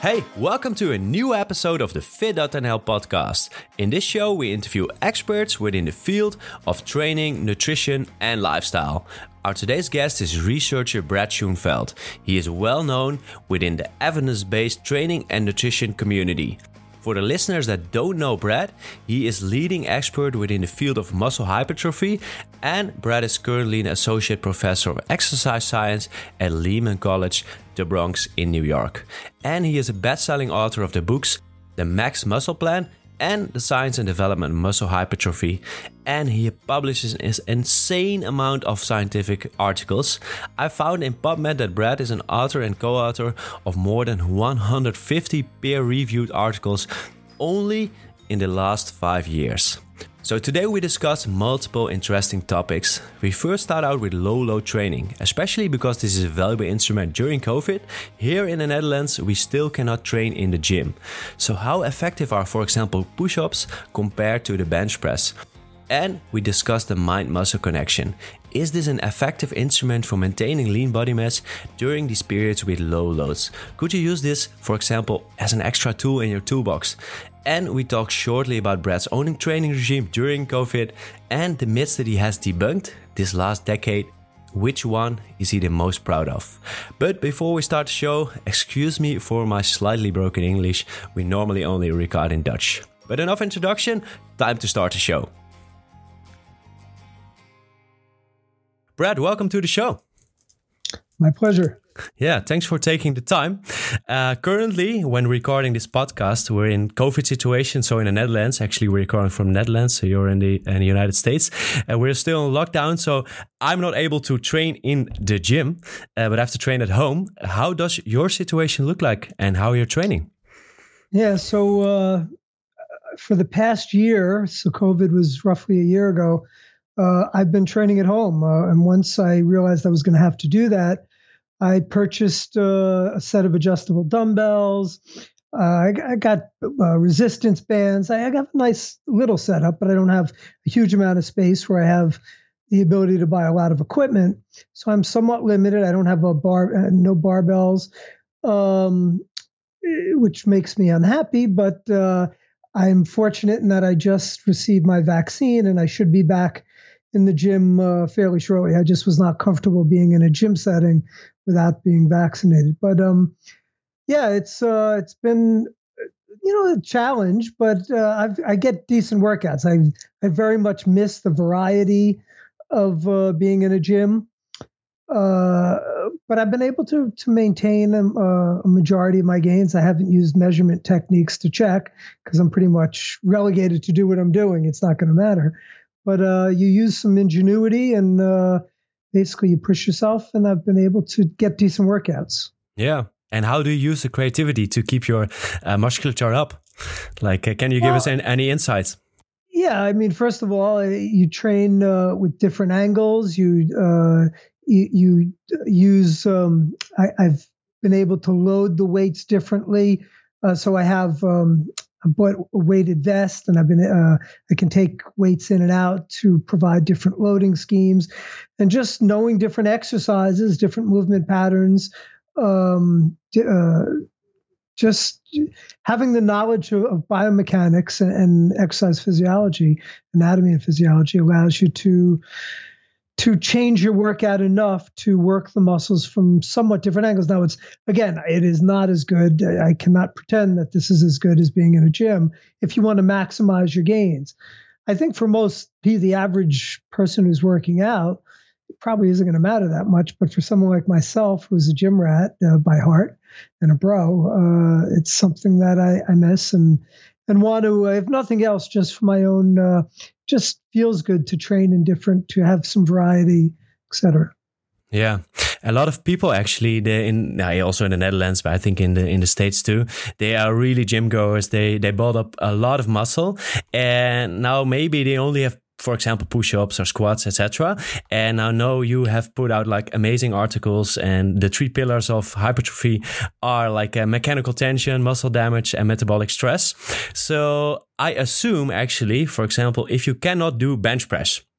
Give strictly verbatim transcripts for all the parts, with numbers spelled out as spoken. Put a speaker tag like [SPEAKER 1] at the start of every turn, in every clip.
[SPEAKER 1] Hey, welcome to a new episode of the Fit dot N L podcast. In this show, we interview experts within the field of training, nutrition, and lifestyle. Our today's guest is researcher Brad Schoenfeld. He is well known within the evidence-based training and nutrition community. For the listeners that don't know Brad, he is leading expert within the field of muscle hypertrophy, and Brad is currently an associate professor of exercise science at Lehman College, the Bronx in New York. And he is a best-selling author of the books The Max Muscle Plan and The Science and Development of Muscle Hypertrophy. And he publishes an insane amount of scientific articles. I found in PubMed that Brad is an author and co-author of more than one hundred fifty peer-reviewed articles only in the last five years. So today we discuss multiple interesting topics. We first start out with low load training, especially because this is a valuable instrument during COVID. Here in the Netherlands, we still cannot train in the gym. So how effective are, for example, push-ups compared to the bench press? And we discuss the mind-muscle connection. Is this an effective instrument for maintaining lean body mass during these periods with low loads? Could you use this, for example, as an extra tool in your toolbox? And we talk shortly about Brad's own training regime during COVID and the myths that he has debunked this last decade. Which one is he the most proud of? But before we start the show, excuse me for my slightly broken English. We normally only record in Dutch. But enough introduction, time to start the show. Brad, welcome to the show.
[SPEAKER 2] My pleasure.
[SPEAKER 1] Yeah, thanks for taking the time. Uh, currently, when recording this podcast, we're in COVID situation. So in the Netherlands, actually we're recording from the Netherlands. So you're in the, in the United States. And we're still in lockdown. So I'm not able to train in the gym, uh, but I have to train at home. How does your situation look like and how you're training?
[SPEAKER 2] Yeah, so uh, for the past year, so COVID was roughly a year ago, uh, I've been training at home. Uh, and once I realized I was going to have to do that, I purchased uh, a set of adjustable dumbbells. Uh, I, I got uh, resistance bands. I, I got a nice little setup, but I don't have a huge amount of space where I have the ability to buy a lot of equipment. So I'm somewhat limited. I don't have a bar, uh, no barbells, um, which makes me unhappy. But uh, I'm fortunate in that I just received my vaccine and I should be back in the gym uh, fairly shortly. I just was not comfortable being in a gym setting without being vaccinated. But um, yeah, it's uh, it's been you know a challenge, but uh, I've, I get decent workouts. I I very much miss the variety of uh, being in a gym, uh, but I've been able to to maintain a, a majority of my gains. I haven't used measurement techniques to check because I'm pretty much relegated to do what I'm doing. It's not going to matter. But uh, you use some ingenuity and uh, basically you push yourself, and I've been able to get decent workouts.
[SPEAKER 1] Yeah. And how do you use the creativity to keep your uh, musculature up? Like, uh, can you give well, us any, any insights?
[SPEAKER 2] Yeah. I mean, first of all, you train uh, with different angles. You uh, you, you use, um, I, I've been able to load the weights differently. Uh, so I have... Um, I bought a weighted vest, and I've been uh, I can take weights in and out to provide different loading schemes, and just knowing different exercises, different movement patterns, um, uh, just having the knowledge of, of biomechanics and, and exercise physiology, anatomy and physiology allows you to to change your workout enough to work the muscles from somewhat different angles. Now, it's, again, it is not as good. I cannot pretend that this is as good as being in a gym if you want to maximize your gains. I think for most, the average person who's working out, it probably isn't going to matter that much. But for someone like myself, who's a gym rat uh, by heart and a bro, uh, it's something that I, I miss and and want to, if nothing else, just for my own, uh, just feels good to train in different, to have some variety, et cetera.
[SPEAKER 1] Yeah, a lot of people actually, they in also in the Netherlands, but I think in the in the States too, they are really gym goers. They they build up a lot of muscle, and now maybe they only have, for example, push-ups or squats, et cetera. And I know you have put out like amazing articles, and the three pillars of hypertrophy are like uh, mechanical tension, muscle damage, and metabolic stress. So I assume actually, for example, if you cannot do bench press,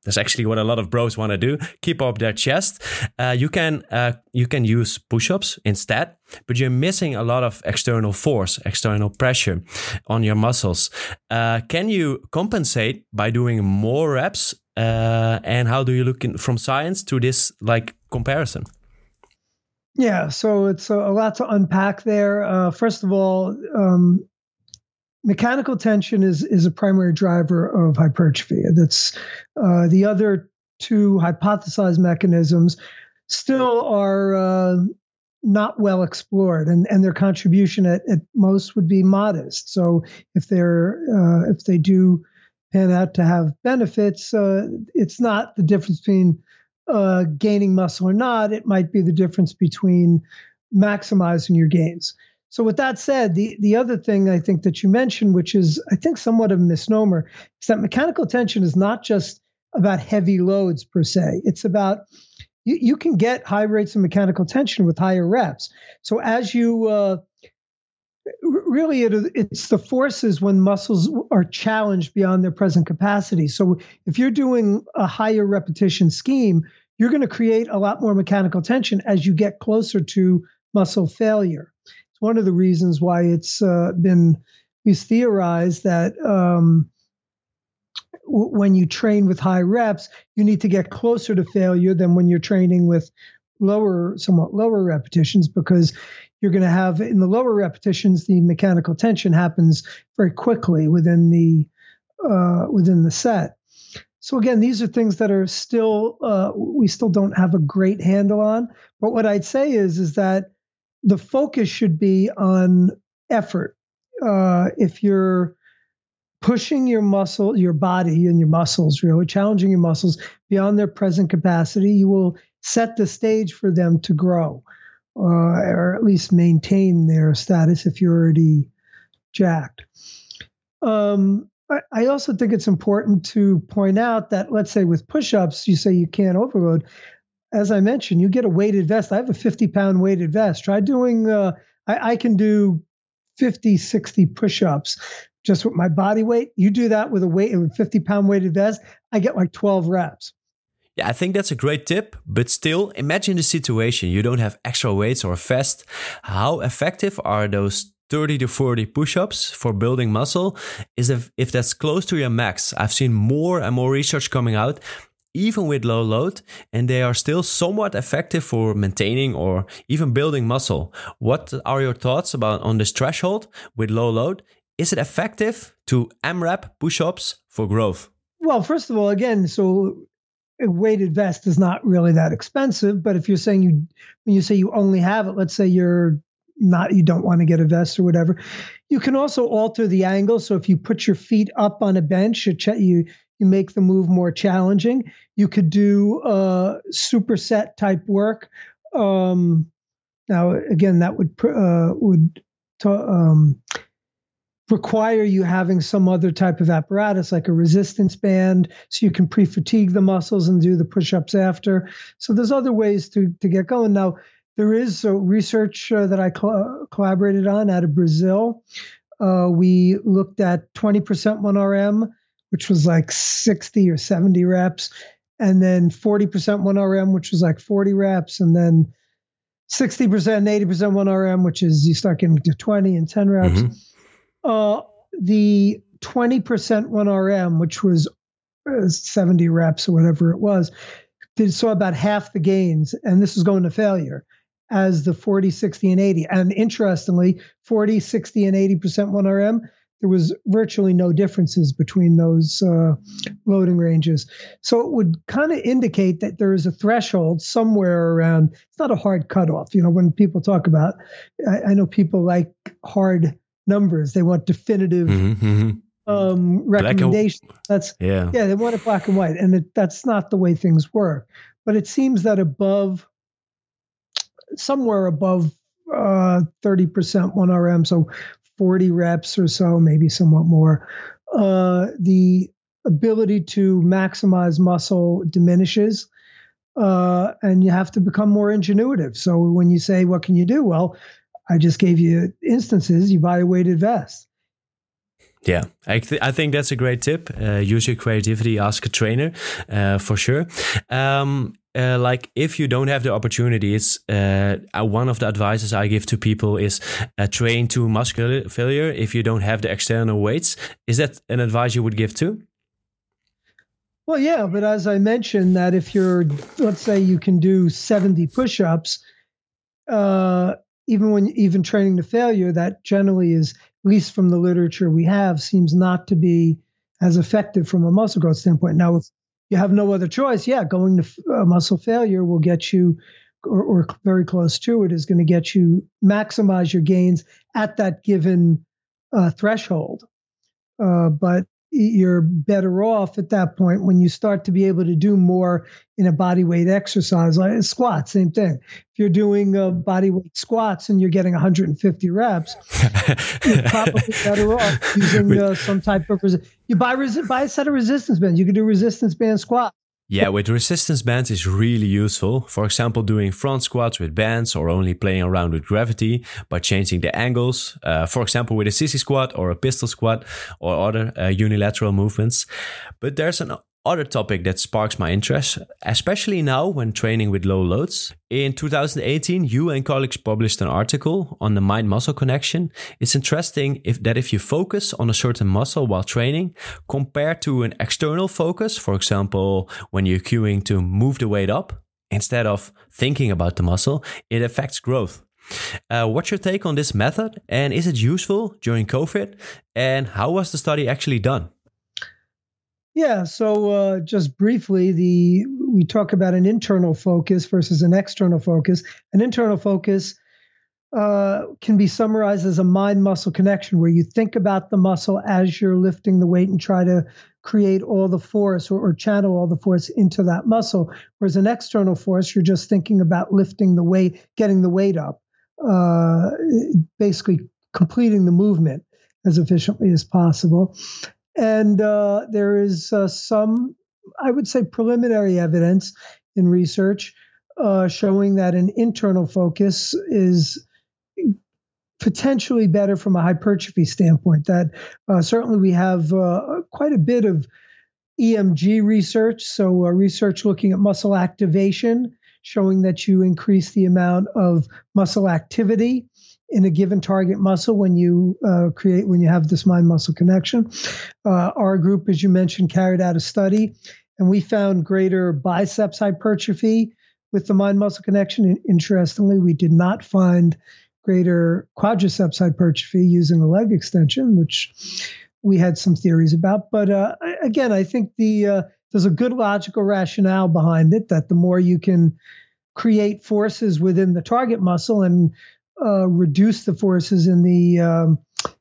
[SPEAKER 1] That's actually what a lot of bros want to do. Keep up their chest. Uh, you can uh, you can use push-ups instead, but you're missing a lot of external force, external pressure on your muscles. Uh, can you compensate by doing more reps? Uh, and how do you look in, from science to this like comparison?
[SPEAKER 2] Yeah, so it's a, a lot to unpack there. Uh, first of all, um, mechanical tension is is a primary driver of hypertrophy. That's uh, the other two hypothesized mechanisms still are uh, not well explored, and, and their contribution at, at most would be modest. So if they're uh, if they do pan out to have benefits, uh, it's not the difference between uh, gaining muscle or not. It might be the difference between maximizing your gains. So with that said, the, the other thing I think that you mentioned, which is I think somewhat of a misnomer, is that mechanical tension is not just about heavy loads per se. It's about, you, you can get high rates of mechanical tension with higher reps. So as you, uh, really it, it's the forces when muscles are challenged beyond their present capacity. So if you're doing a higher repetition scheme, you're going to create a lot more mechanical tension as you get closer to muscle failure. One of the reasons why it's uh, been is theorized that um, w- when you train with high reps, you need to get closer to failure than when you're training with lower, somewhat lower repetitions, because you're going to have in the lower repetitions, the mechanical tension happens very quickly within the uh, within the set. So again, these are things that are still uh, we still don't have a great handle on. But what I'd say is is that the focus should be on effort. Uh, if you're pushing your muscle, your body and your muscles, really challenging your muscles beyond their present capacity, you will set the stage for them to grow, uh, or at least maintain their status if you're already jacked. Um, I, I also think it's important to point out that, let's say with push-ups, you say you can't overload. As I mentioned, you get a weighted vest. I have a fifty pound weighted vest. Try doing, uh, I, I can do fifty, sixty push-ups just with my body weight. You do that with a weight, with a fifty pound weighted vest, I get like twelve reps.
[SPEAKER 1] Yeah, I think that's a great tip, but still, imagine the situation. You don't have extra weights or a vest. How effective are those thirty to forty push-ups for building muscle? Is if, if that's close to your max. I've seen more and more research coming out, even with low load, and they are still somewhat effective for maintaining or even building muscle. What are your thoughts about on this threshold with low load? Is it effective to AMRAP push-ups for growth?
[SPEAKER 2] Well, first of all, again, so a weighted vest is not really that expensive, but if you're saying you, when you say you only have it, let's say you're not, you don't want to get a vest or whatever, you can also alter the angle. So if you put your feet up on a bench, you, you You make the move more challenging. You could do uh, superset type work. Um, now, again, that would uh, would t- um, require you having some other type of apparatus, like a resistance band, so you can pre-fatigue the muscles and do the push-ups after. So there's other ways to to get going. Now, there is uh, research uh, that I cl- collaborated on out of Brazil. Uh, we looked at twenty percent one R M, which was like sixty or seventy reps, and then forty percent one R M, which was like forty reps, and then sixty percent and eighty percent one R M, which is you start getting to twenty and ten reps. Mm-hmm. Uh, the twenty percent one R M, which was uh, seventy reps or whatever it was, did so about half the gains, and this was going to failure, as the forty, sixty, and eighty. And interestingly, forty, sixty, and eighty percent one R M, there was virtually no differences between those uh, loading ranges. So it would kind of indicate that there is a threshold somewhere around. It's not a hard cutoff. You know, when people talk about, I, I know people like hard numbers. They want definitive mm-hmm, mm-hmm. Um, recommendations. And, that's yeah, yeah. They want it black and white, and it, that's not the way things work. But it seems that above, somewhere above uh, thirty percent one R M, so forty reps or so, maybe somewhat more, uh, the ability to maximize muscle diminishes, uh, and you have to become more ingenuitive. So when you say, what can you do? Well, I just gave you instances. You buy a weighted vest.
[SPEAKER 1] Yeah, I, th- I think that's a great tip. Uh, use your creativity, ask a trainer, uh, for sure. Um, uh, like if you don't have the opportunity, it's uh, uh, one of the advices I give to people is uh, train to muscular failure if you don't have the external weights. Is that an advice you would give too?
[SPEAKER 2] Well, yeah, but as I mentioned, that if you're, let's say you can do seventy push-ups, uh, even when even training to failure, that generally is, at least from the literature we have, seems not to be as effective from a muscle growth standpoint. Now, if you have no other choice, yeah, going to uh, muscle failure will get you, or, or very close to it, is going to get you maximize your gains at that given uh, threshold. Uh, but you're better off at that point when you start to be able to do more in a body weight exercise, like squats, same thing. If you're doing uh, body weight squats and you're getting one hundred fifty reps, you're probably better off using uh, some type of, resi- you buy, resi- buy a set of resistance bands. You can do resistance band squats.
[SPEAKER 1] Yeah, with resistance bands is really useful. For example, doing front squats with bands or only playing around with gravity by changing the angles. Uh, for example, with a sissy squat or a pistol squat or other uh, unilateral movements. But there's an other topic that sparks my interest, especially now when training with low loads. In two thousand eighteen, you and colleagues published an article on the mind-muscle connection. It's interesting if that if you focus on a certain muscle while training, compared to an external focus, for example, when you're cueing to move the weight up, instead of thinking about the muscle, it affects growth. Uh, what's your take on this method? And is it useful during COVID? And how was the study actually done?
[SPEAKER 2] Yeah, so uh, just briefly, the we talk about an internal focus versus an external focus. An internal focus uh, can be summarized as a mind-muscle connection, where you think about the muscle as you're lifting the weight and try to create all the force or, or channel all the force into that muscle. Whereas an external force, you're just thinking about lifting the weight, getting the weight up, uh, basically completing the movement as efficiently as possible. And uh, there is uh, some, I would say, preliminary evidence in research uh, showing that an internal focus is potentially better from a hypertrophy standpoint. That uh, certainly we have uh, quite a bit of E M G research, so uh, research looking at muscle activation, showing that you increase the amount of muscle activity in a given target muscle when you uh, create, when you have this mind-muscle connection. Uh, our group, as you mentioned, carried out a study, and we found greater biceps hypertrophy with the mind-muscle connection. And interestingly, we did not find greater quadriceps hypertrophy using a leg extension, which we had some theories about. But uh, again, I think the uh, there's a good logical rationale behind it, that the more you can create forces within the target muscle and Uh, reduce the forces in the um,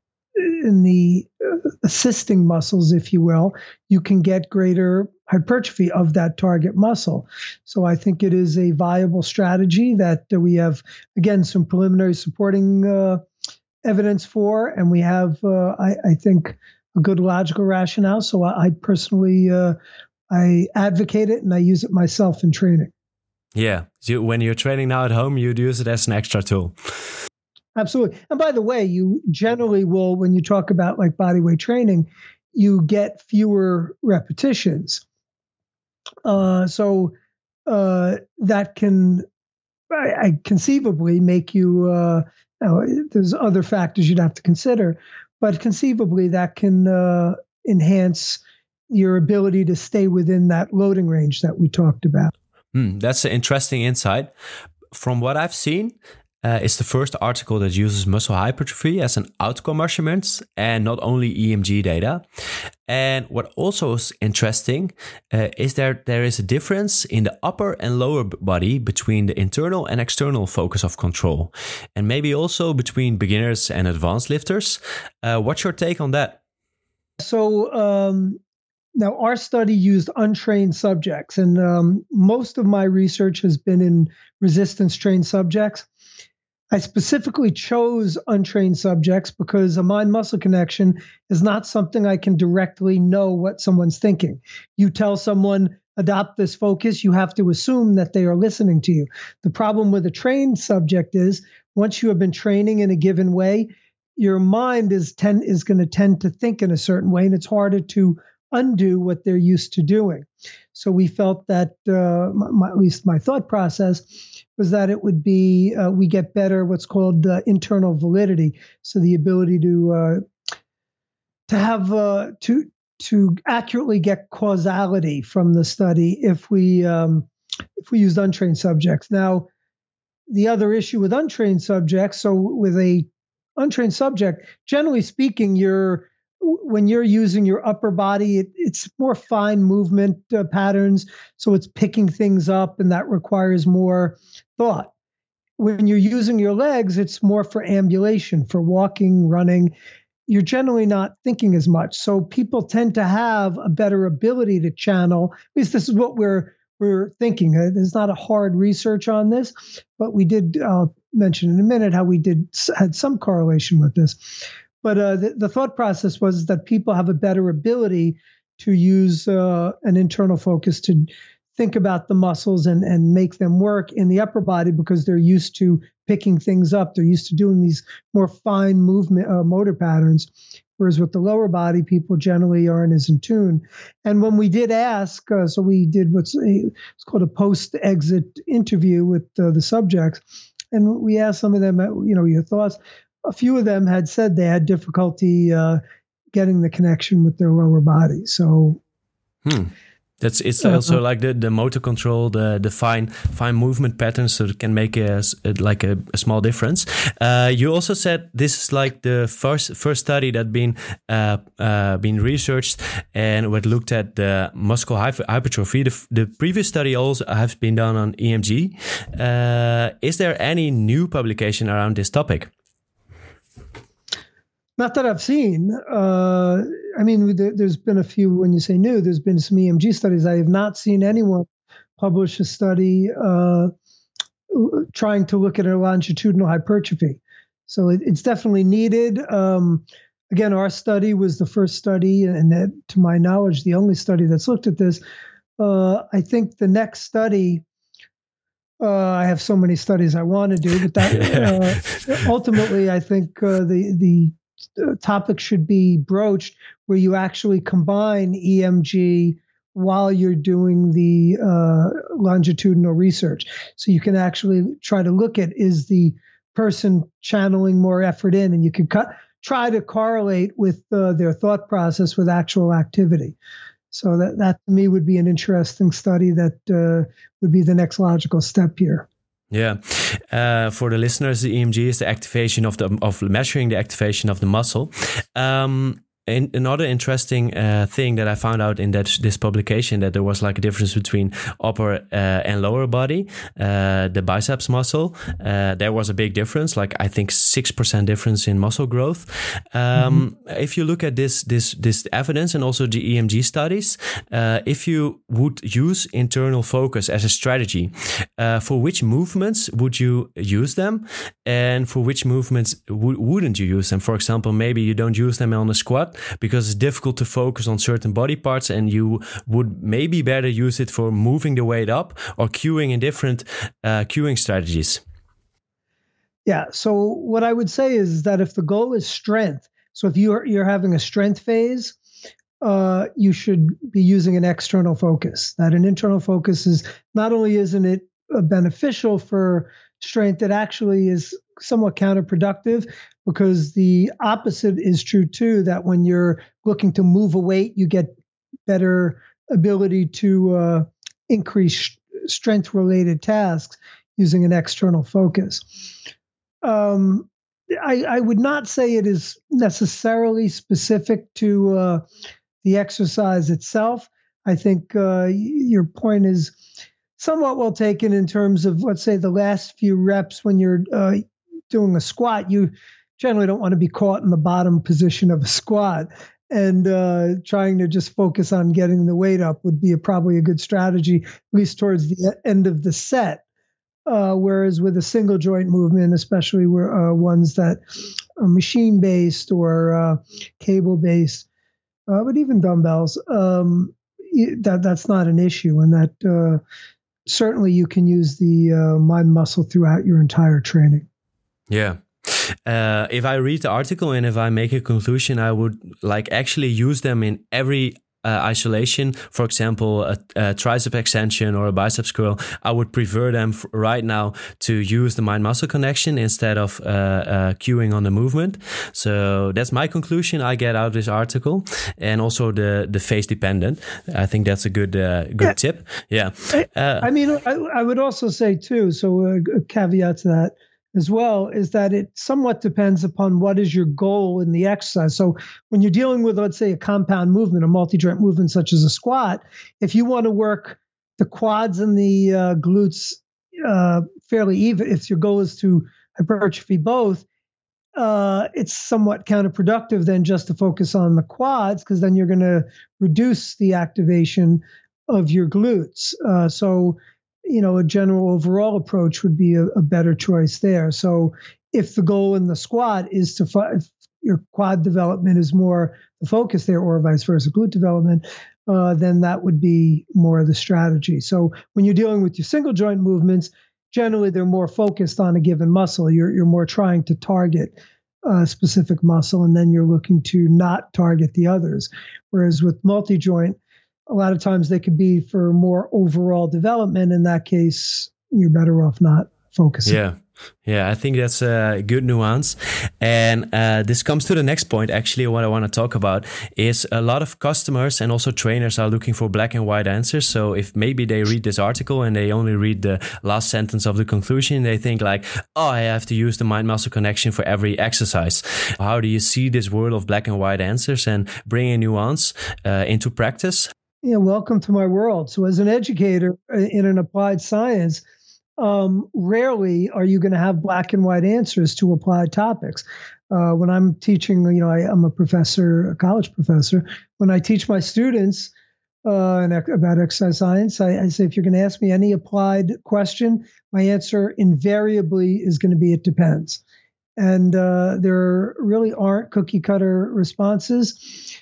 [SPEAKER 2] in the uh, assisting muscles, if you will, you can get greater hypertrophy of that target muscle. So I think it is a viable strategy that uh, we have, again, some preliminary supporting uh, evidence for, and we have, uh, I, I think, a good logical rationale. So I, I personally, uh, I advocate it and I use it myself in training.
[SPEAKER 1] Yeah, so when you're training now at home, you'd use it as an extra tool.
[SPEAKER 2] Absolutely. And by the way, you generally will, when you talk about like body weight training, you get fewer repetitions. Uh, so uh, that can I, I conceivably make you, uh, you know, there's other factors you'd have to consider, but conceivably that can uh, enhance your ability to stay within that loading range that we talked about.
[SPEAKER 1] Hmm, that's an interesting insight. From what I've seen, uh, it's the first article that uses muscle hypertrophy as an outcome measurement and not only E M G data. And what also is interesting uh, is there there is a difference in the upper and lower body between the internal and external focus of control, and maybe also between beginners and advanced lifters. Uh, what's your take on that?
[SPEAKER 2] So, um, Now, our study used untrained subjects, and um, most of my research has been in resistance-trained subjects. I specifically chose untrained subjects because a mind-muscle connection is not something I can directly know what someone's thinking. You tell someone, adopt this focus, you have to assume that they are listening to you. The problem with a trained subject is once you have been training in a given way, your mind is tend is going to tend to think in a certain way, and it's harder to undo what they're used to doing. So we felt that, uh, my, at least my thought process, was that it would be uh, we get better what's called uh, internal validity, so the ability to uh, to have uh, to to accurately get causality from the study if we um, if we used untrained subjects. Now, the other issue with untrained subjects, so with a untrained subject, generally speaking, you're when you're using your upper body, it, it's more fine movement uh, patterns, so it's picking things up, and that requires more thought. When you're using your legs, it's more for ambulation, for walking, running. You're generally not thinking as much. So people tend to have a better ability to channel. At least this is what we're we're thinking. There's not a hard research on this, but we did uh, mention in a minute how we did had some correlation with this. But uh, the, the thought process was that people have a better ability to use uh, an internal focus to think about the muscles and, and make them work in the upper body because they're used to picking things up. They're used to doing these more fine movement uh, motor patterns, whereas with the lower body, people generally aren't as in tune. And when we did ask, uh, so we did what's a, it's called a post-exit interview with uh, the subjects, and we asked some of them, you know, your thoughts. A few of them had said they had difficulty uh, getting the connection with their lower body. So,
[SPEAKER 1] hmm. That's it's also uh, like the, the motor control, the the fine fine movement patterns, so it can make a, like a, a small difference. Uh, you also said this is like the first first study that been uh, uh, been researched and what looked at the muscle hypertrophy. The, the previous study also has been done on E M G. Uh, is there any new publication around this topic?
[SPEAKER 2] Not that I've seen. Uh, I mean, there's been a few, when you say new, there's been some E M G studies. I have not seen anyone publish a study uh, trying to look at a longitudinal hypertrophy. So it, it's definitely needed. Um, again, our study was the first study, and that, to my knowledge, the only study that's looked at this. Uh, I think the next study, uh, I have so many studies I want to do, but that uh, ultimately, I think uh, the the topic should be broached where you actually combine E M G while you're doing the uh, longitudinal research. So you can actually try to look at, is the person channeling more effort in, and you can cut, try to correlate with uh, their thought process with actual activity. So that, that to me would be an interesting study that uh, would be the next logical step here.
[SPEAKER 1] Yeah, uh, for the listeners, the E M G is the activation of the of measuring the activation of the muscle. Um, and another interesting uh, thing that I found out in that this publication, that there was like a difference between upper uh, and lower body, uh, the biceps muscle. Uh, there was a big difference, like I think six percent difference in muscle growth. Um, mm-hmm. If you look at this this this evidence and also the E M G studies, uh, if you would use internal focus as a strategy, uh, for which movements would you use them, and for which movements w- wouldn't you use them? For example, maybe you don't use them on a squat because it's difficult to focus on certain body parts, and you would maybe better use it for moving the weight up or cueing in different uh, cueing strategies.
[SPEAKER 2] Yeah. So what I would say is that if the goal is strength, so if you're you're having a strength phase, uh, you should be using an external focus. That an internal focus is not only isn't it beneficial for strength, it actually is somewhat counterproductive, because the opposite is true too, that when you're looking to move a weight, you get better ability to uh, increase strength-related tasks using an external focus. Um, I, I would not say it is necessarily specific to uh, the exercise itself. I think uh, your point is somewhat well taken in terms of, let's say, the last few reps when you're uh, doing a squat. You generally don't want to be caught in the bottom position of a squat, and uh, trying to just focus on getting the weight up would be a, probably a good strategy, at least towards the end of the set. Uh, whereas with a single joint movement, especially where uh, ones that are machine based or uh, cable based, uh, but even dumbbells, um, that that's not an issue, and that uh, certainly you can use the uh, mind muscle throughout your entire training.
[SPEAKER 1] Yeah. uh, if I read the article and if I make a conclusion, I would like actually use them in every Uh, isolation. For example, a, a tricep extension or a biceps curl, I would prefer them f- right now to use the mind-muscle connection instead of uh, uh, cueing on the movement. So that's my conclusion I get out of this article, and also the the phase dependent. I think that's a good uh, good yeah. tip. Yeah.
[SPEAKER 2] Uh, I mean, I, I would also say too. So a, a caveat to that as well is that it somewhat depends upon what is your goal in the exercise. So when you're dealing with, let's say, a compound movement, a multi-joint movement such as a squat, if you want to work the quads and the uh, glutes uh, fairly even, if your goal is to hypertrophy both, uh, it's somewhat counterproductive then just to focus on the quads, because then you're going to reduce the activation of your glutes. Uh, so you know, a general overall approach would be a, a better choice there. So if the goal in the squat is to, if your quad development is more the focus there, or vice versa, glute development, uh, then that would be more the strategy. So when you're dealing with your single joint movements, generally they're more focused on a given muscle. You're, you're more trying to target a specific muscle, and then you're looking to not target the others. Whereas with multi-joint, a lot of times they could be for more overall development. In that case, you're better off not focusing.
[SPEAKER 1] Yeah. Yeah, I think that's a good nuance. And uh, this comes to the next point. Actually, what I want to talk about is a lot of customers and also trainers are looking for black and white answers. So if maybe they read this article and they only read the last sentence of the conclusion, they think like, oh, I have to use the mind-muscle connection for every exercise. How do you see this world of black and white answers and bring a nuance uh, into practice?
[SPEAKER 2] Yeah, welcome to my world. So as an educator in an applied science, um, rarely are you going to have black and white answers to applied topics. Uh, when I'm teaching, you know, I, I'm a professor, a college professor. When I teach my students uh, about exercise science, I, I say, if you're going to ask me any applied question, my answer invariably is going to be, it depends. And uh, there really aren't cookie cutter responses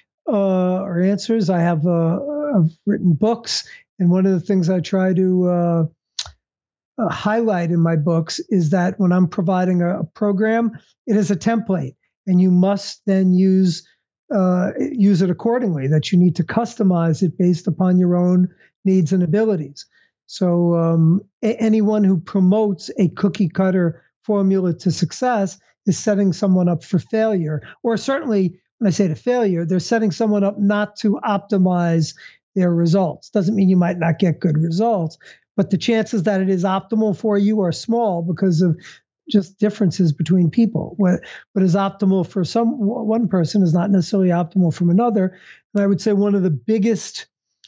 [SPEAKER 2] uh, or answers. I have uh, I've written books, and one of the things I try to uh, uh, highlight in my books is that when I'm providing a, a program, it is a template, and you must then use uh, use it accordingly. That you need to customize it based upon your own needs and abilities. So um, a- anyone who promotes a cookie cutter formula to success is setting someone up for failure, or certainly when I say to failure, they're setting someone up not to optimize their results. Doesn't mean you might not get good results, but the chances that it is optimal for you are small because of just differences between people. What what is optimal for some one person is not necessarily optimal from another. And I would say one of the biggest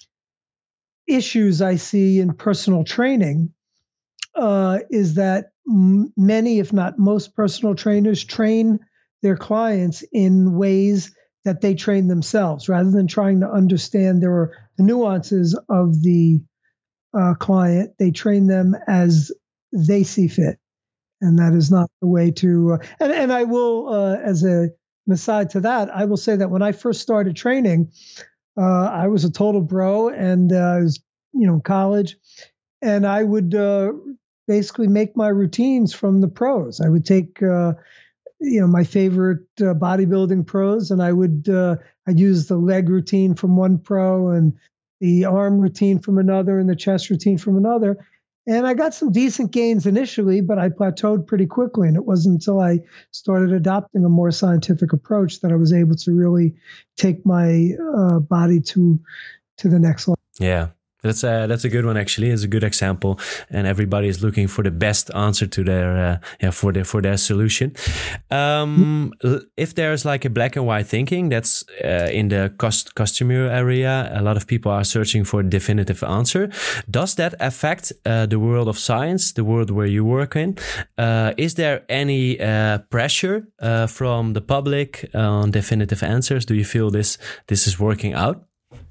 [SPEAKER 2] issues I see in personal training uh, is that m- many, if not most, personal trainers train their clients in ways that they train themselves, rather than trying to understand their the nuances of the uh, client. They train them as they see fit, and that is not the way to. Uh, and and I will, uh, as a an aside to that, I will say that when I first started training, uh, I was a total bro, and uh, I was you know in college, and I would uh, basically make my routines from the pros. I would take. Uh, you know, my favorite uh, bodybuilding pros, and I would, uh, I'd use the leg routine from one pro and the arm routine from another and the chest routine from another. And I got some decent gains initially, but I plateaued pretty quickly. And it wasn't until I started adopting a more scientific approach that I was able to really take my uh, body to, to the next level.
[SPEAKER 1] Yeah. That's a, that's a good one, actually. It's a good example, and everybody is looking for the best answer to their uh, yeah for their for their solution. Um, if there's like a black and white thinking that's uh, in the cost customer area, a lot of people are searching for a definitive answer. Does that affect uh, the world of science, the world where you work in? Uh, is there any uh, pressure uh, from the public on definitive answers? Do you feel this this is working out?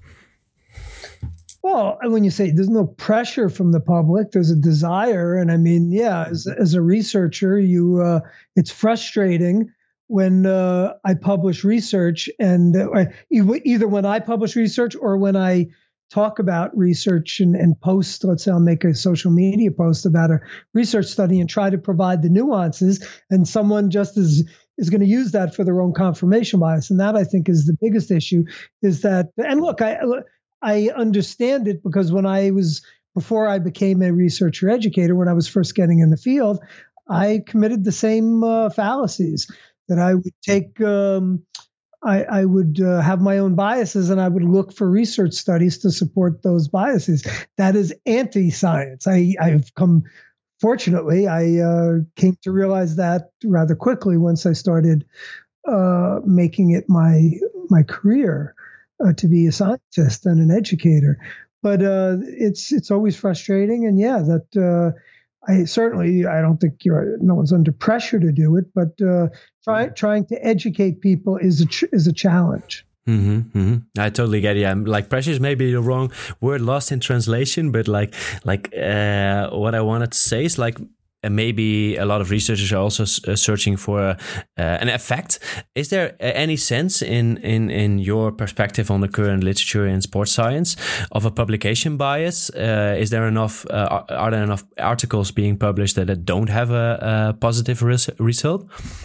[SPEAKER 2] Well, when you say there's no pressure from the public, there's a desire. And I mean, yeah, as, as a researcher, you uh, it's frustrating when uh, I publish research and uh, either when I publish research or when I talk about research and, and post, let's say I'll make a social media post about a research study and try to provide the nuances, and someone just is is going to use that for their own confirmation bias. And that, I think, is the biggest issue, is that, and look, I I understand it, because when I was, before I became a researcher educator, when I was first getting in the field, I committed the same uh, fallacies, that I would take, um, I, I would uh, have my own biases, and I would look for research studies to support those biases. That is anti-science. I, I've come, fortunately, I uh, came to realize that rather quickly once I started uh, making it my my career uh, to be a scientist and an educator. But uh, it's it's always frustrating, and yeah, that. Uh, I certainly, I don't think you're, no one's under pressure to do it, but uh, try, trying to educate people is a ch- is a challenge.
[SPEAKER 1] Mm-hmm, mm-hmm. I totally get it. Yeah, like pressure is maybe the wrong word, lost in translation, but like like uh, what I wanted to say is like, and maybe a lot of researchers are also uh, searching for uh, an effect. Is there any sense in, in, in your perspective on the current literature in sports science of a publication bias? Uh, is there enough, uh, are there enough articles being published that, that don't have a, a positive res- result?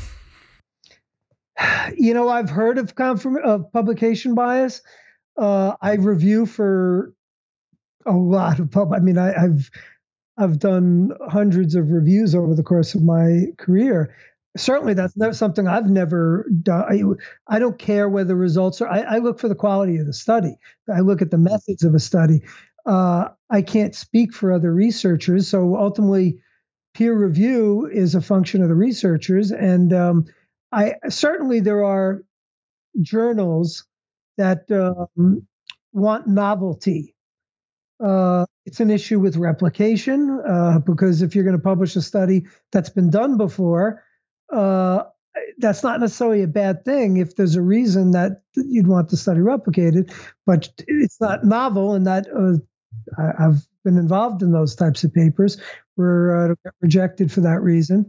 [SPEAKER 2] You know, I've heard of, confirm- of publication bias. Uh, I review for a lot of pub. I mean, I, I've, I've done hundreds of reviews over the course of my career. Certainly, that's never something I've never done. I, I don't care whether the results are. I, I look for the quality of the study. I look at the methods of a study. Uh, I can't speak for other researchers, so ultimately, peer review is a function of the researchers. And um, I certainly there are journals that um, want novelty. Uh, it's an issue with replication, uh, because if you're going to publish a study that's been done before, uh, that's not necessarily a bad thing if there's a reason that you'd want the study replicated, but it's not novel, and that uh, I, I've been involved in those types of papers were uh, rejected for that reason.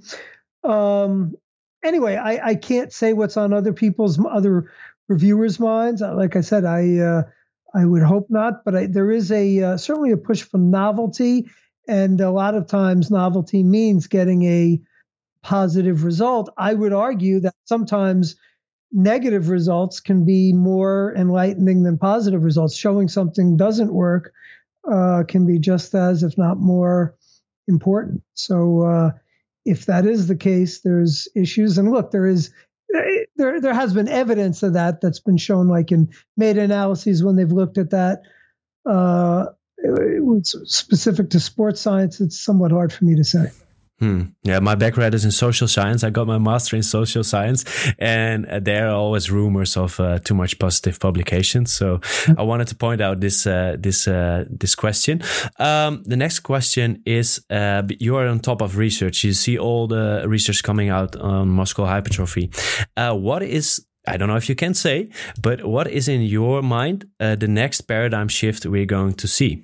[SPEAKER 2] Um, anyway, I, I can't say what's on other people's, other reviewers' minds. Like I said, I uh, I would hope not, but I, there is a uh, certainly a push for novelty, and a lot of times novelty means getting a positive result. I would argue that sometimes negative results can be more enlightening than positive results. Showing something doesn't work uh, can be just as, if not more, important. So uh, if that is the case, there's issues. And look, there is there there has been evidence of that that's been shown, like in meta-analyses when they've looked at that. Uh, it's specific to sports science, it's somewhat hard for me to say.
[SPEAKER 1] Hmm. Yeah, my background is in social science. I got my master in social science, and there are always rumors of uh, too much positive publications. So I wanted to point out this uh, this uh, this question. Um, the next question is: uh, you are on top of research. You see all the research coming out on muscular hypertrophy. Uh, what is I don't know if you can say, but what is in your mind uh, the next paradigm shift we're going to see?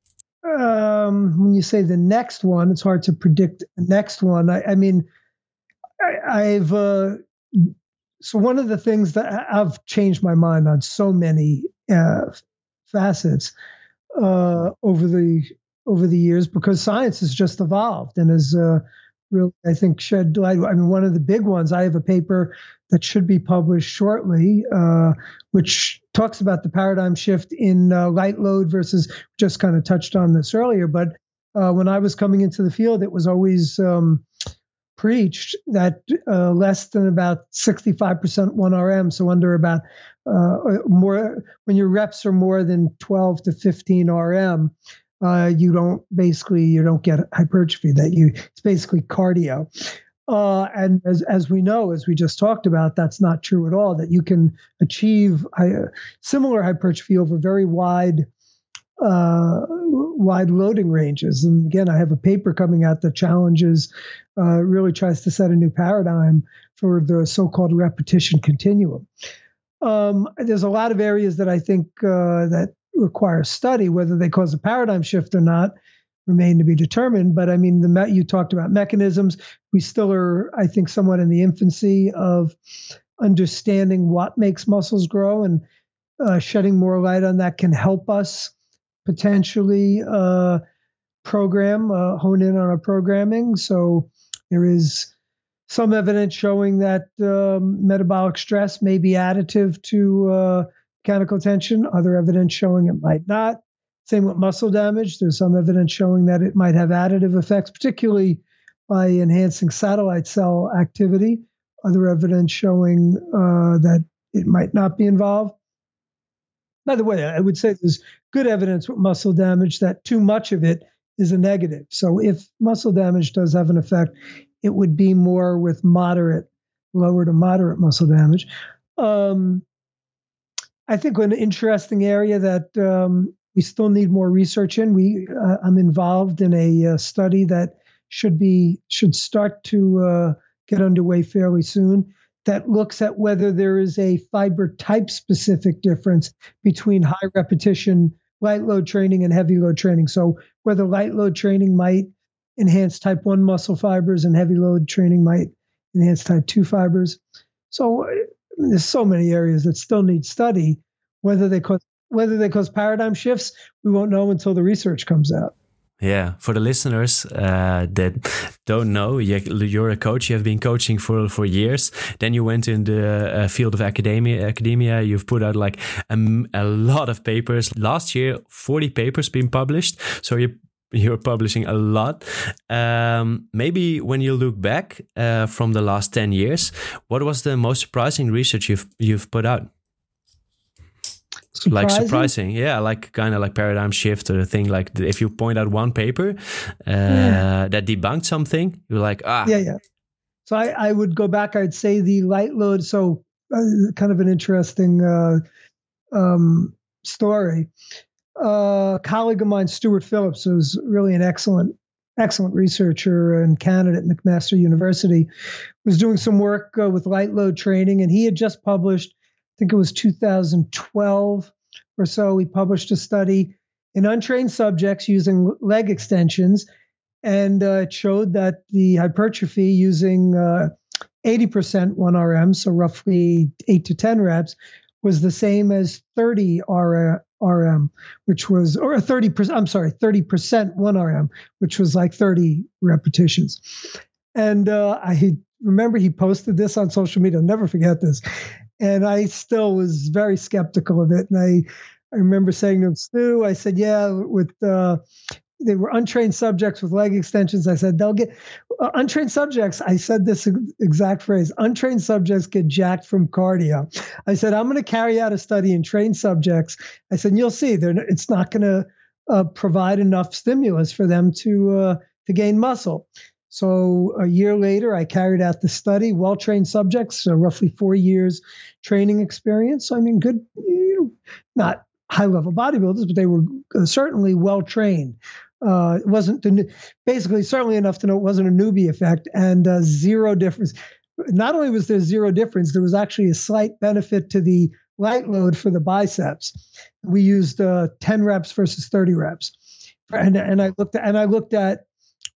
[SPEAKER 2] Um, when you say the next one, it's hard to predict the next one. I, I mean, I, I've uh, so one of the things that I've changed my mind on so many uh, facets uh, over the over the years, because science has just evolved and has uh, really, I think, shed light. I mean, one of the big ones. I have a paper that should be published shortly, uh, which talks about the paradigm shift in uh, light load versus, just kind of touched on this earlier, but uh, when I was coming into the field, it was always um, preached that uh, less than about sixty-five percent one R M, so under about uh, more, when your reps are more than twelve to fifteen R M, uh, you don't basically, you don't get hypertrophy, that you, it's basically cardio. Uh, and as as we know, as we just talked about, that's not true at all, that you can achieve uh, similar hypertrophy over very wide uh, wide loading ranges. And again, I have a paper coming out that challenges, uh, really tries to set a new paradigm for the so-called repetition continuum. Um, there's a lot of areas that I think uh, that require study, whether they cause a paradigm shift or not remain to be determined. But I mean, the you talked about mechanisms. We still are, I think, somewhat in the infancy of understanding what makes muscles grow, and uh, shedding more light on that can help us potentially uh, program, uh, hone in on our programming. So there is some evidence showing that um, metabolic stress may be additive to uh, mechanical tension, other evidence showing it might not. Same with muscle damage. There's some evidence showing that it might have additive effects, particularly by enhancing satellite cell activity. Other evidence showing uh, that it might not be involved. By the way, I would say there's good evidence with muscle damage that too much of it is a negative. So if muscle damage does have an effect, it would be more with moderate, lower to moderate muscle damage. Um, I think an interesting area that um, we still need more research in. We, uh, I'm involved in a uh, study that should be should start to uh, get underway fairly soon. That looks at whether there is a fiber type specific difference between high repetition light load training and heavy load training. So whether light load training might enhance type one muscle fibers and heavy load training might enhance type two fibers. So there's so many areas that still need study. Whether they cause whether they cause paradigm shifts, we won't know until the research comes out.
[SPEAKER 1] Yeah, for the listeners uh, that don't know, you're a coach. You have been coaching for, for years. Then you went in the uh, field of academia. Academia. You've put out like a, a lot of papers. Last year, forty papers been published. So you you're publishing a lot. Um, maybe when you look back uh, from the last ten years, what was the most surprising research you've you've put out?
[SPEAKER 2] Surprising?
[SPEAKER 1] Like surprising, yeah, like kind of like paradigm shift or a thing. Like if you point out one paper uh, yeah. that debunked something, you're like, ah,
[SPEAKER 2] yeah, yeah. So I, I would go back. I'd say the light load. So uh, kind of an interesting uh, um, story. Uh, a colleague of mine, Stuart Phillips, who's really an excellent, excellent researcher in Canada at McMaster University, was doing some work uh, with light load training, and he had just published. I think it was two thousand twelve or so, he published a study in untrained subjects using leg extensions, and uh, it showed that the hypertrophy using uh, eighty percent one R M, so roughly eight to ten reps, was the same as thirty R M, which was, or thirty percent, I'm sorry, thirty percent one R M, which was like thirty repetitions. And uh, I remember he posted this on social media. I'll never forget this. And I still was very skeptical of it. And I, I remember saying to him, Stu, I said, yeah, with uh, they were untrained subjects with leg extensions. I said, they'll get uh, untrained subjects. I said this exact phrase, untrained subjects get jacked from cardio. I said, I'm going to carry out a study in trained subjects. I said, you'll see, they're, it's not going to uh, provide enough stimulus for them to uh, to gain muscle. So a year later, I carried out the study, well-trained subjects, so roughly four years training experience. So, I mean, good, you know, not high-level bodybuilders, but they were certainly well-trained. Uh, it wasn't the, basically certainly enough to know it wasn't a newbie effect, and uh, zero difference. Not only was there zero difference, there was actually a slight benefit to the light load for the biceps. We used uh, ten reps versus thirty reps, and and I looked at, and I looked at.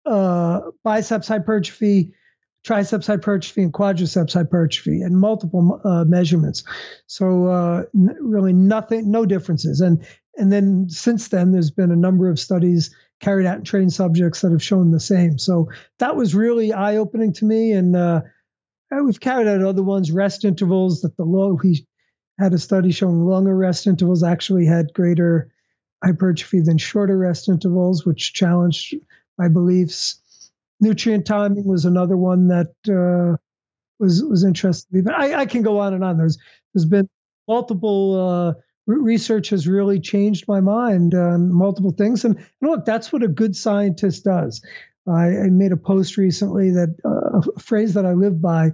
[SPEAKER 2] Uh, biceps hypertrophy, triceps hypertrophy, and quadriceps hypertrophy, and multiple uh, measurements. So uh, n- really nothing, no differences. And and then since then, there's been a number of studies carried out in trained subjects that have shown the same. So that was really eye-opening to me. And uh, we've carried out other ones, rest intervals. That the long we had a study showing longer rest intervals actually had greater hypertrophy than shorter rest intervals, which challenged my beliefs. Nutrient timing was another one that uh, was was interesting. But I, I can go on and on. There's there's been multiple uh, research has really changed my mind on multiple things. And, and look, that's what a good scientist does. I, I made a post recently that uh, a phrase that I live by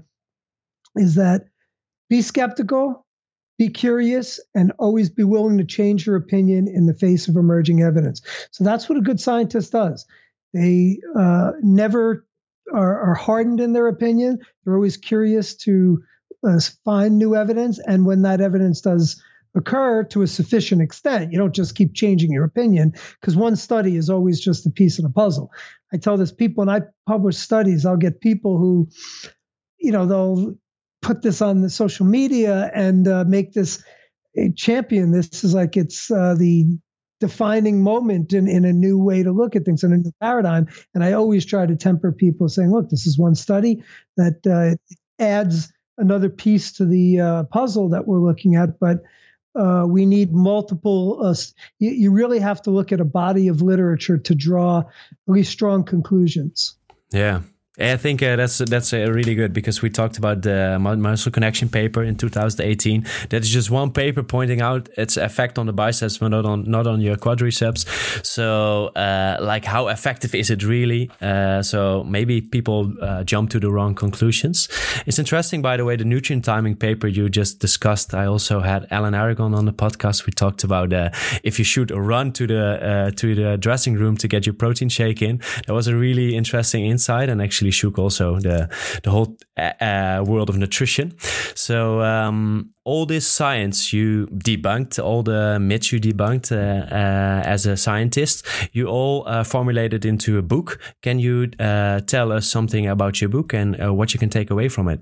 [SPEAKER 2] is that be skeptical, be curious, and always be willing to change your opinion in the face of emerging evidence. So that's what a good scientist does. They uh, never are, are hardened in their opinion. They're always curious to uh, find new evidence. And when that evidence does occur to a sufficient extent, you don't just keep changing your opinion, because one study is always just a piece of the puzzle. I tell this people, when I publish studies, I'll get people who, you know, they'll put this on the social media and uh, make this a champion. This is like it's uh, the defining moment in, in a new way to look at things, in a new paradigm. And I always try to temper people saying, look, this is one study that uh, adds another piece to the uh, puzzle that we're looking at, but uh, we need multiple, uh, you, you really have to look at a body of literature to draw at least strong conclusions.
[SPEAKER 1] Yeah. I think uh, that's that's uh, really good, because we talked about the muscle connection paper in two thousand eighteen. That is just one paper pointing out its effect on the biceps, but not on not on your quadriceps. So, uh, like, how effective is it really? Uh, so maybe people uh, jump to the wrong conclusions. It's interesting, by the way, the nutrient timing paper you just discussed. I also had Alan Aragon on the podcast. We talked about uh, if you should run to the uh, to the dressing room to get your protein shake in. That was a really interesting insight, and actually shook also the the whole uh, world of nutrition. So um, all this science you debunked, all the myths you debunked uh, uh, as a scientist, you all uh, formulated into a book. Can you uh, tell us something about your book and uh, what you can take away from it?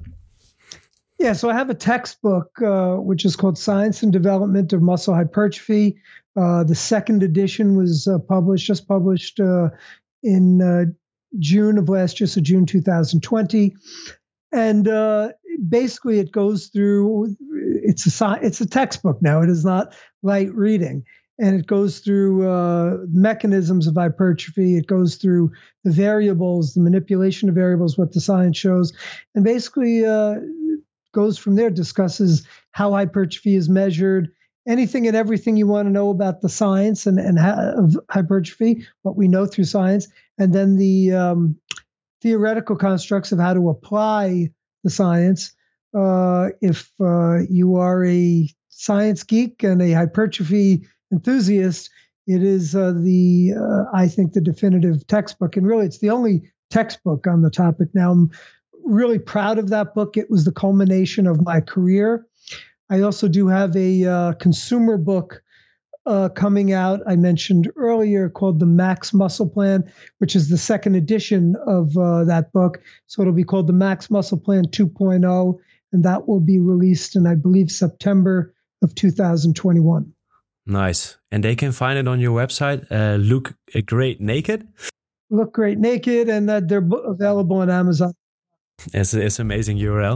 [SPEAKER 2] Yeah, so I have a textbook uh, which is called Science and Development of Muscle Hypertrophy. Uh, the second edition was uh, published, just published uh, in uh, June of last year, so June two thousand twenty, and uh, basically it goes through. It's a it's a textbook now. It is not light reading, and it goes through uh, mechanisms of hypertrophy. It goes through the variables, the manipulation of variables, what the science shows, and basically uh, goes from there. Discusses how hypertrophy is measured. Anything and everything you want to know about the science and, and ha- of hypertrophy, what we know through science, and then the um, theoretical constructs of how to apply the science. Uh, if uh, you are a science geek and a hypertrophy enthusiast, it is uh, the, uh, I think, the definitive textbook. And really, it's the only textbook on the topic. Now, I'm really proud of that book. It was the culmination of my career. I also do have a uh, consumer book uh, coming out, I mentioned earlier, called the Max Muscle Plan, which is the second edition of uh, that book. So it'll be called the Max Muscle Plan two point oh, and that will be released in, I believe, September of two thousand twenty-one.
[SPEAKER 1] Nice. And they can find it on your website, uh, Look Great Naked?
[SPEAKER 2] Look Great Naked, and uh, they're available on Amazon.
[SPEAKER 1] It's, it's an amazing U R L.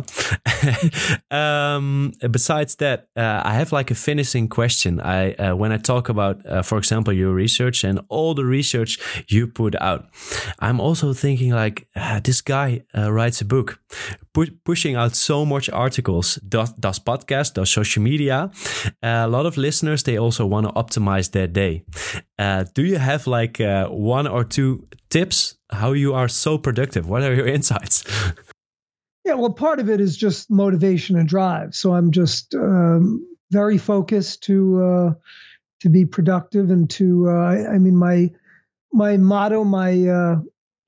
[SPEAKER 1] um, besides that, uh, I have like a finishing question. I uh, when I talk about, uh, for example, your research and all the research you put out, I'm also thinking like, uh, this guy uh, writes a book, pu- pushing out so much articles, does, does podcasts, does social media. Uh, a lot of listeners, they also want to optimize their day. Uh, do you have like uh, one or two tips how you are so productive? What are your insights?
[SPEAKER 2] Yeah, well, part of it is just motivation and drive. So I'm just um, very focused to uh, to be productive and to. Uh, I, I mean, my my motto, my uh,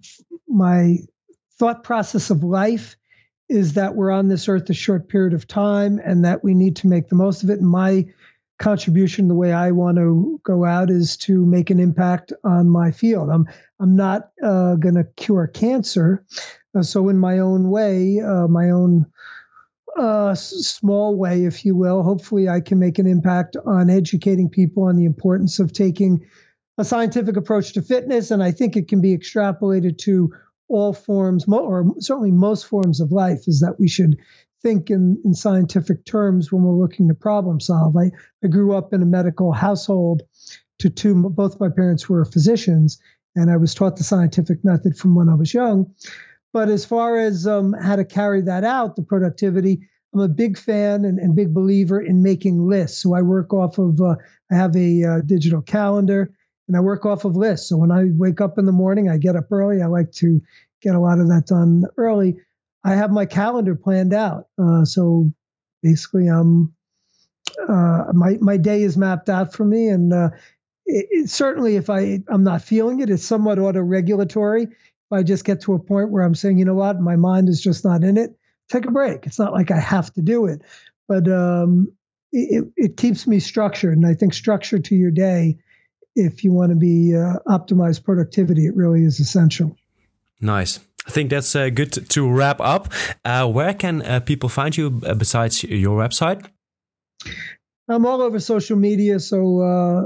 [SPEAKER 2] my thought process of life is that we're on this earth a short period of time, and that we need to make the most of it. And my contribution, the way I want to go out, is to make an impact on my field. I'm I'm not uh, going to cure cancer. Uh, so in my own way, uh, my own uh, s- small way, if you will, hopefully I can make an impact on educating people on the importance of taking a scientific approach to fitness. And I think it can be extrapolated to all forms, mo- or certainly most forms of life, is that we should think in, in scientific terms when we're looking to problem solve. I, I grew up in a medical household. To two, both my parents were physicians, and I was taught the scientific method from when I was young. But as far as um, how to carry that out, the productivity, I'm a big fan and, and big believer in making lists. So I work off of, uh, I have a uh, digital calendar, and I work off of lists. So when I wake up in the morning, I get up early. I like to get a lot of that done early. I have my calendar planned out. Uh, so basically, um, uh, my my day is mapped out for me. And uh, it, it, certainly if I, I'm not feeling it, it's somewhat auto-regulatory. If I just get to a point where I'm saying, you know what, my mind is just not in it, take a break. It's not like I have to do it, but um, it, it keeps me structured. And I think structure to your day, if you want to be uh, optimized productivity, it really is essential.
[SPEAKER 1] Nice. I think that's uh, good to, to wrap up. Uh, where can uh, people find you uh, besides your website?
[SPEAKER 2] I'm all over social media. So uh,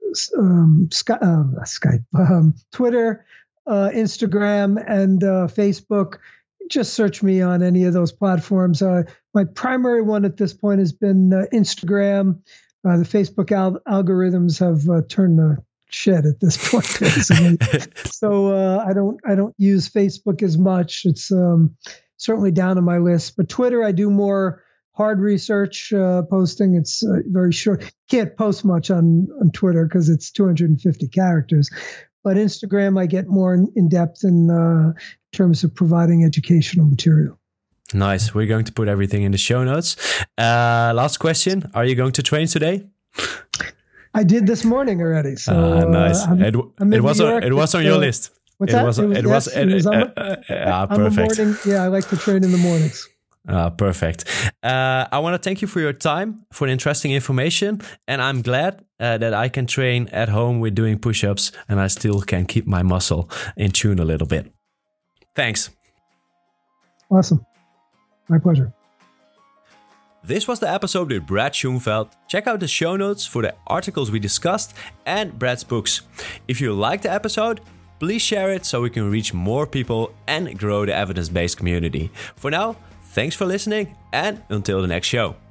[SPEAKER 2] um, Sky, uh, Skype, um, Twitter, uh, Instagram, and uh, Facebook. Just search me on any of those platforms. Uh, my primary one at this point has been uh, Instagram. Uh, the Facebook al- algorithms have uh, turned the shit at this point, basically. so uh, I don't I don't use Facebook as much. It's um, certainly down on my list. But Twitter, I do more hard research uh, posting. It's uh, very short. Can't post much on on Twitter because it's two hundred fifty characters. But Instagram, I get more in, in depth in uh, terms of providing educational material.
[SPEAKER 1] Nice. We're going to put everything in the show notes. Uh, last question. Are you going to train today?
[SPEAKER 2] I did this morning already. So
[SPEAKER 1] uh, nice.
[SPEAKER 2] Uh, I'm,
[SPEAKER 1] it
[SPEAKER 2] I'm
[SPEAKER 1] it was on, it was on your uh, list.
[SPEAKER 2] What's
[SPEAKER 1] it
[SPEAKER 2] that?
[SPEAKER 1] Was,
[SPEAKER 2] it was,
[SPEAKER 1] it
[SPEAKER 2] yes,
[SPEAKER 1] was,
[SPEAKER 2] it was
[SPEAKER 1] uh,
[SPEAKER 2] on,
[SPEAKER 1] uh, uh, uh,
[SPEAKER 2] I'm a
[SPEAKER 1] perfect.
[SPEAKER 2] morning, yeah, I like to train in the mornings.
[SPEAKER 1] Ah, perfect. Uh, I want to thank you for your time, for the interesting information. And I'm glad uh, that I can train at home with doing push-ups and I still can keep my muscle in tune a little bit. Thanks.
[SPEAKER 2] Awesome. My pleasure.
[SPEAKER 1] This was the episode with Brad Schoenfeld. Check out the show notes for the articles we discussed and Brad's books. If you liked the episode, please share it so we can reach more people and grow the evidence-based community. For now, thanks for listening and until the next show.